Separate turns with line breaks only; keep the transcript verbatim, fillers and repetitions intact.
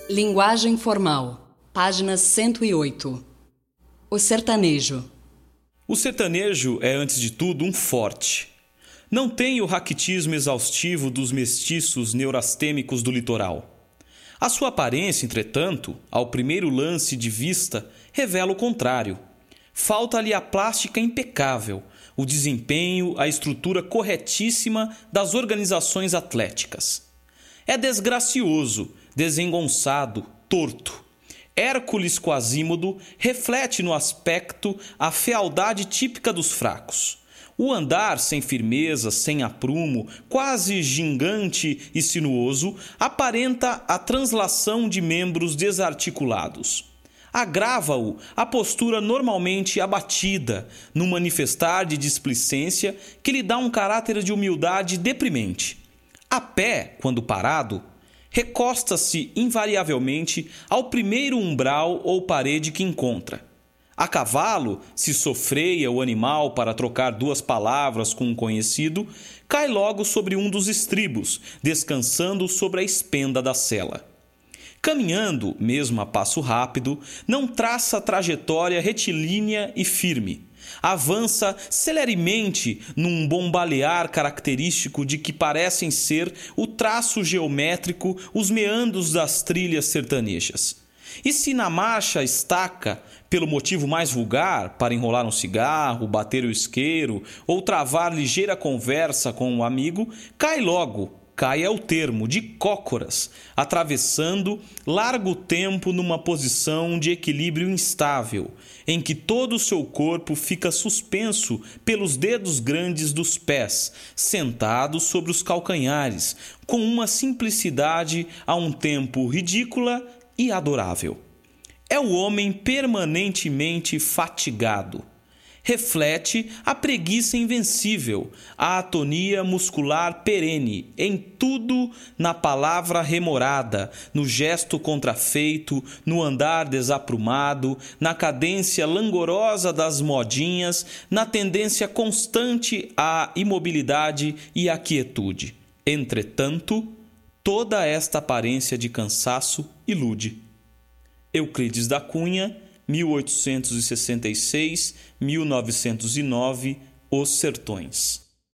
Linguagem formal, página cento e oito. O sertanejo.
O sertanejo é, antes de tudo, um forte. Não tem o raquitismo exaustivo dos mestiços neurastêmicos do litoral. A sua aparência, entretanto, ao primeiro lance de vista, revela o contrário. Falta-lhe a plástica impecável, o desempenho, a estrutura corretíssima das organizações atléticas. É desgracioso, desengonçado, torto. Hércules Quasímodo reflete no aspecto a fealdade típica dos fracos. O andar sem firmeza, sem aprumo, quase gigante e sinuoso, aparenta a translação de membros desarticulados. Agrava-o a postura normalmente abatida, num manifestar de displicência que lhe dá um caráter de humildade deprimente. A pé, quando parado, recosta-se invariavelmente ao primeiro umbral ou parede que encontra. A cavalo, se sofreia o animal para trocar duas palavras com um conhecido, cai logo sobre um dos estribos, descansando sobre a espenda da sela. Caminhando, mesmo a passo rápido, não traça trajetória retilínea e firme. Avança celeremente num bombalear característico de que parecem ser o traço geométrico os meandros das trilhas sertanejas. E se na marcha estaca, pelo motivo mais vulgar, para enrolar um cigarro, bater o isqueiro ou travar ligeira conversa com um amigo, cai logo, cai é o termo, de cócoras, atravessando largo tempo numa posição de equilíbrio instável, em que todo o seu corpo fica suspenso pelos dedos grandes dos pés, sentado sobre os calcanhares, com uma simplicidade a um tempo ridícula e adorável. É o homem permanentemente fatigado. Reflete a preguiça invencível, a atonia muscular perene, em tudo, na palavra remorada, no gesto contrafeito, no andar desaprumado, na cadência langorosa das modinhas, na tendência constante à imobilidade e à quietude. Entretanto, toda esta aparência de cansaço ilude. Euclides da Cunha, mil oitocentos e sessenta e seis a mil novecentos e nove, Os Sertões.